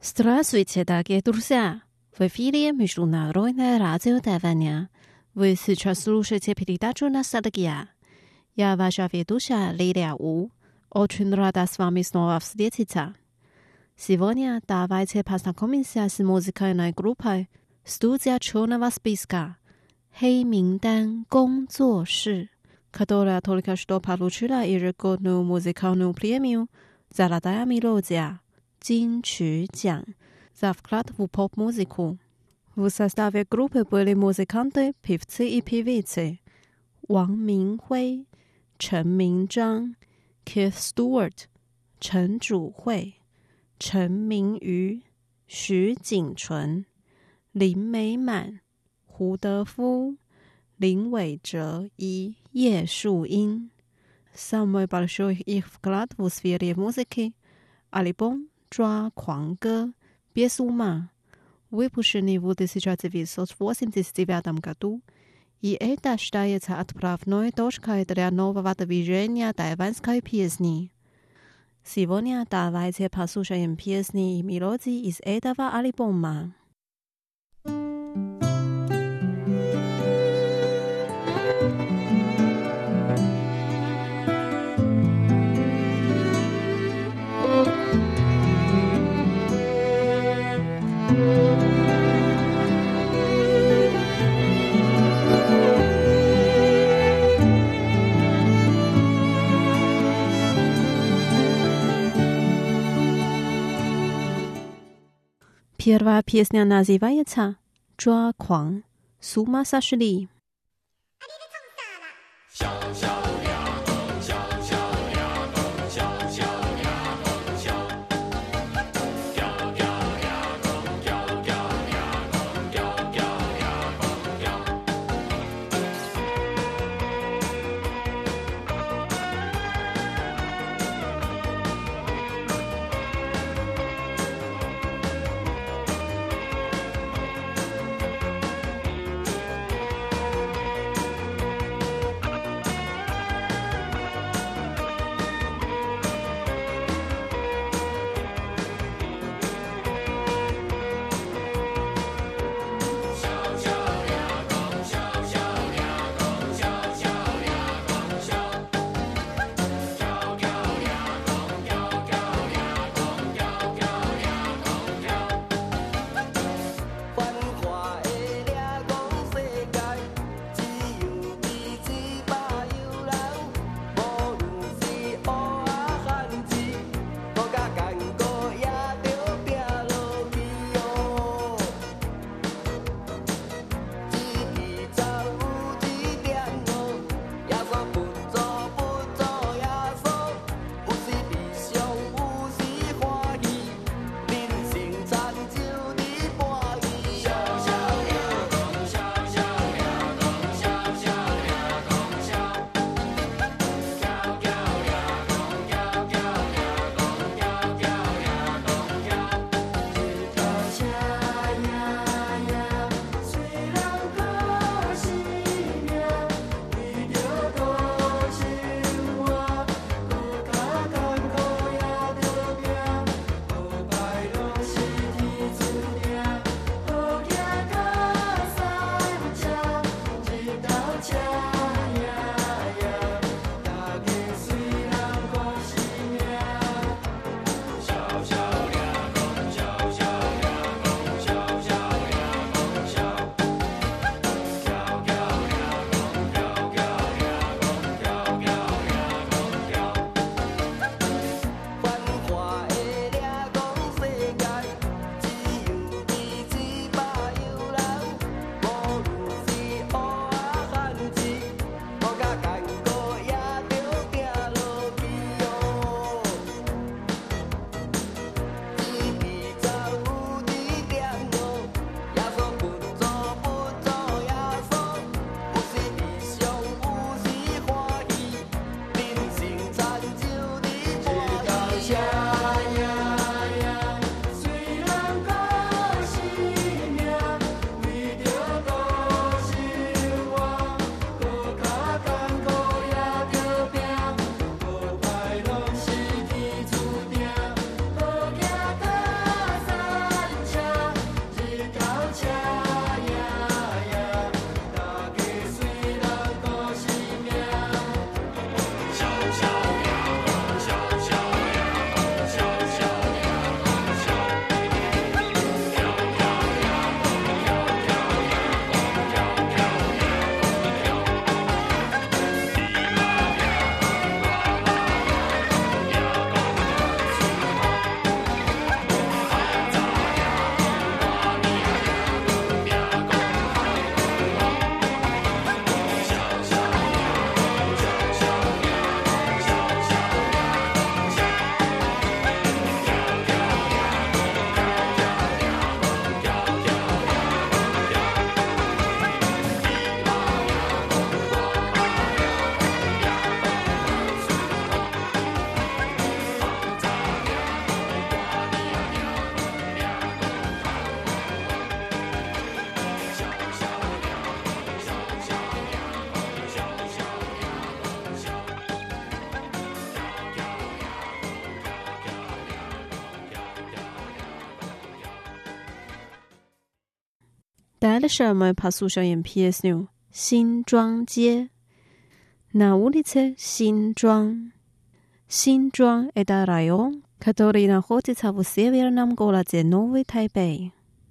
Здравствуйте, дорогие друзья! В эфире Международное радио Тайваня. Вы сейчас слушаете передачу «Ностальгия». Я ваша ведущая Лилия У. Очень рада с вами снова встретиться. Сегодня давайте познакомимся с музыкальной группой «Студия черного списка» 黑名单工作室, которая только что получила ежегодную музыкальную премию «Золотая мелодия» 金曲奖 за вклад в поп-музыку. В составе группы были музыканты, певцы и певицы Wang Minghui, Chen Mingzhang, Keith Stewart, Chen Zhuhui, Chen Mingyu, Xu Jingchun, Lin Meiman, 胡德夫、林伟哲и 叶树英. Самый большой их вклад в сфере музыки – альбом «抓狂歌» без ума, выпущенный в 1989 году, и это считается отправной точкой для нового движения тайванской песни. Сегодня давайте послушаем песни и мелодии из этого альбома. Первая песня называется «抓狂», «С ума сошли». Дальше мы послушаем песню «Синджуан街». На улице Синджуан. Синджуан – это район, который находится в северном городе Новый Тайбэй.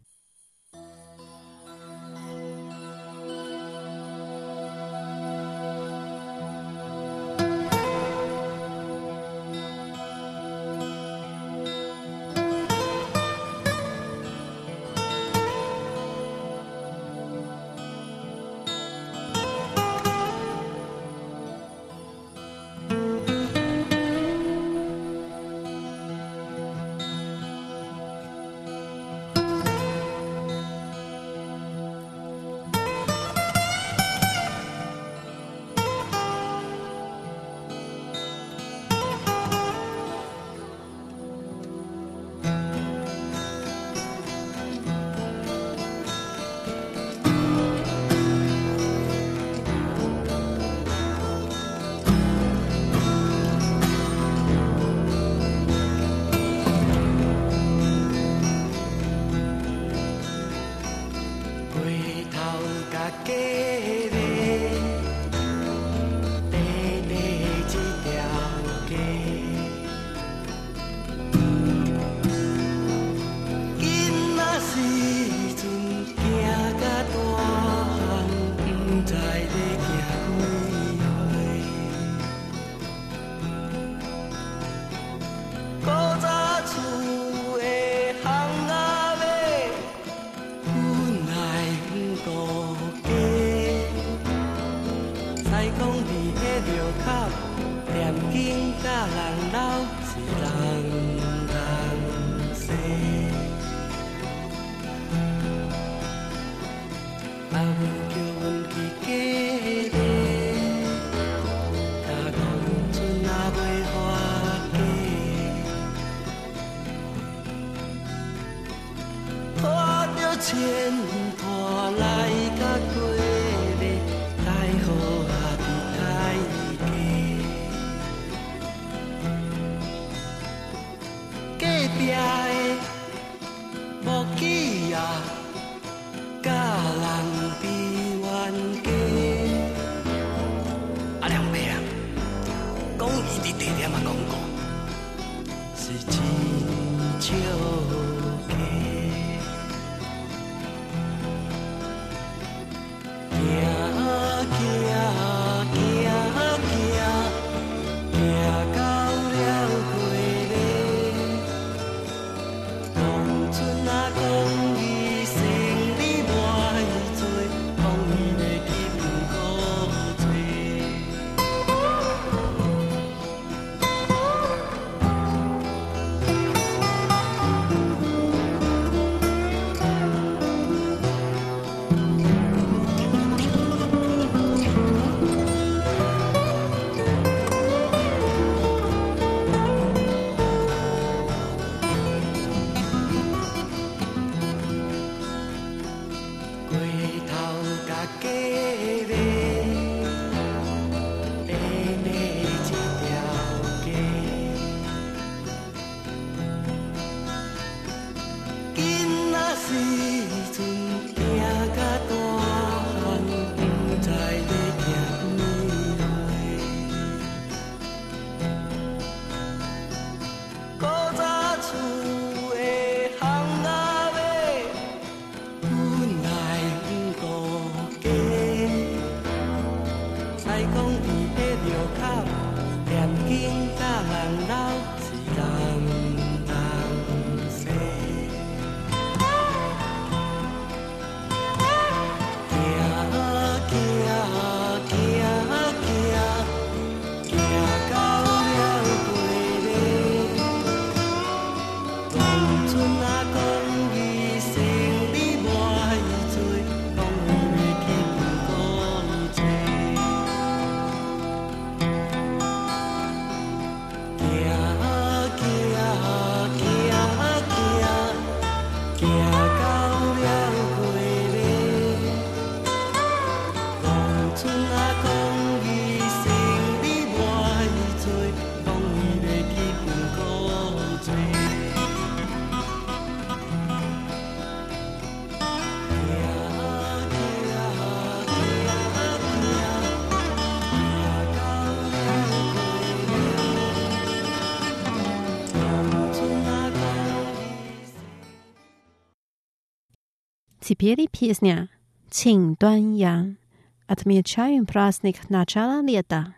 牵拖来甲过日，太好下比太低。隔壁的木屐啊，甲人比冤家。啊，梁伯啊，讲伊伫地点啊讲过，是真少。 Теперь песня «Qing Duan Yang». Отмечаем праздник начала лета.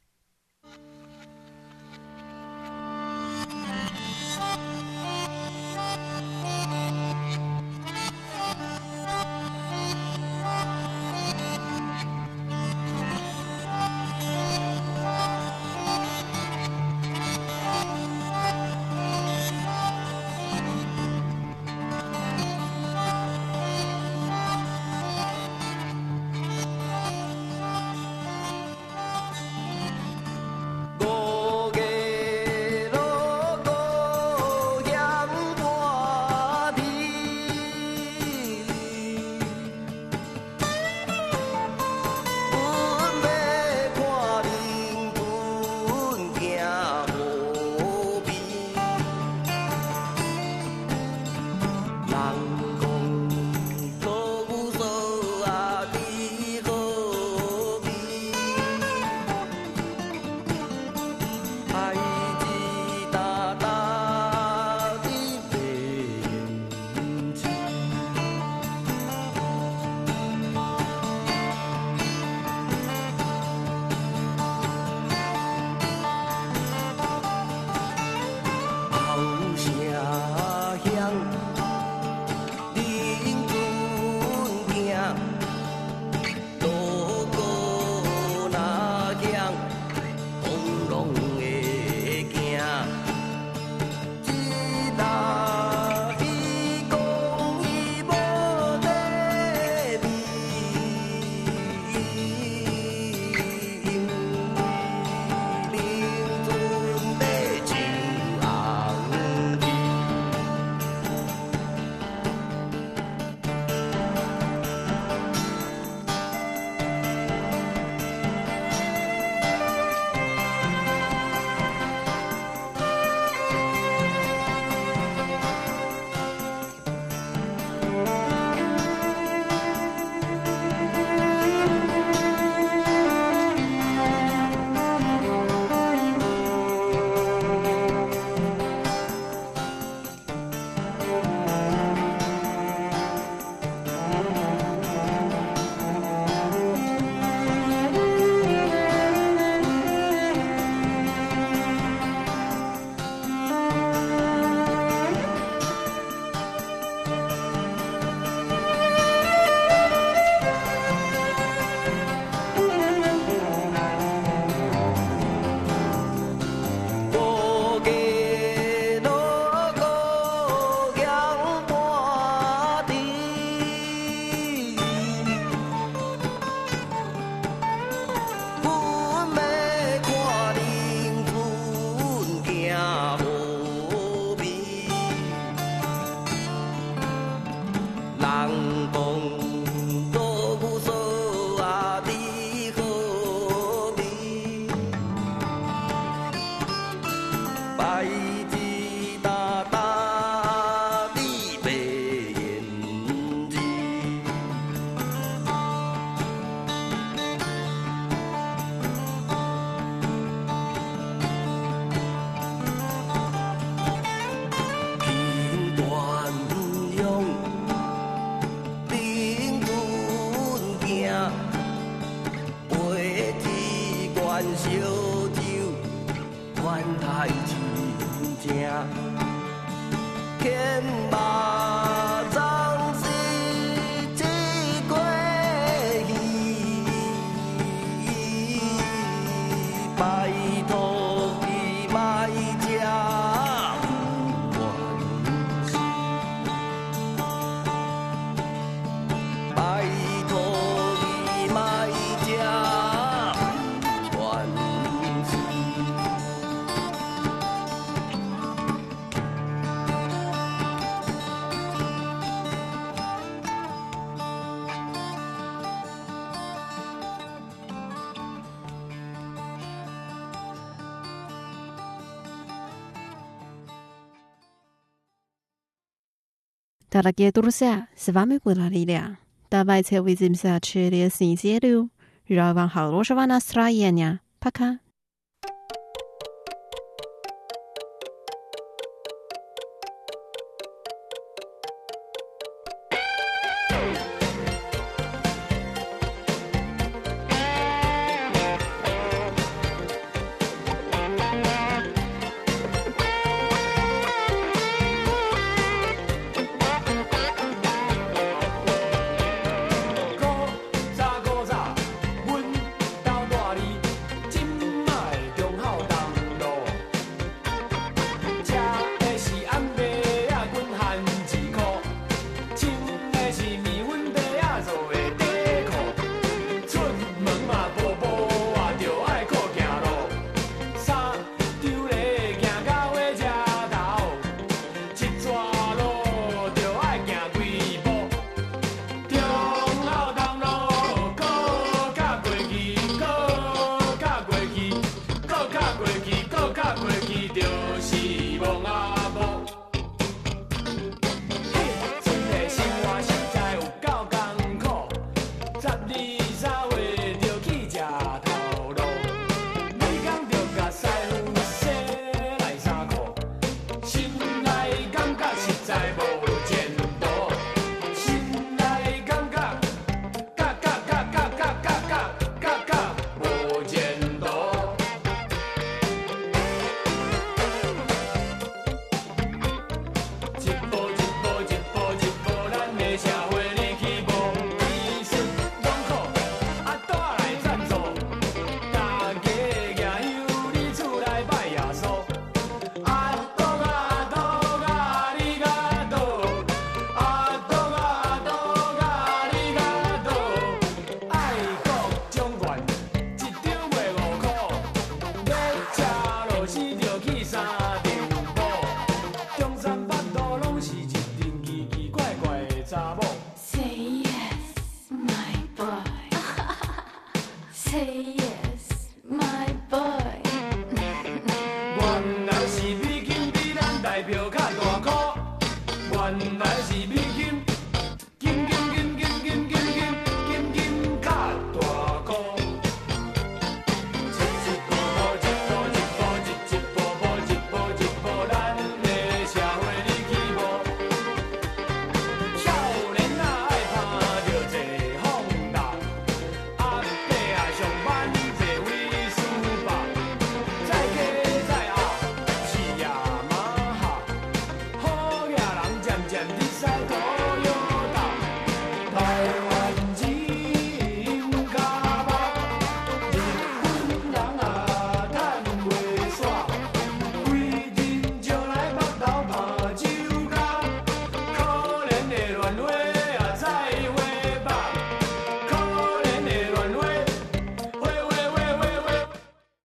Дорогие друзья, с вами была Лилия. Давайте увидимся через неделю. Желаю вам хорошего настроения. Пока.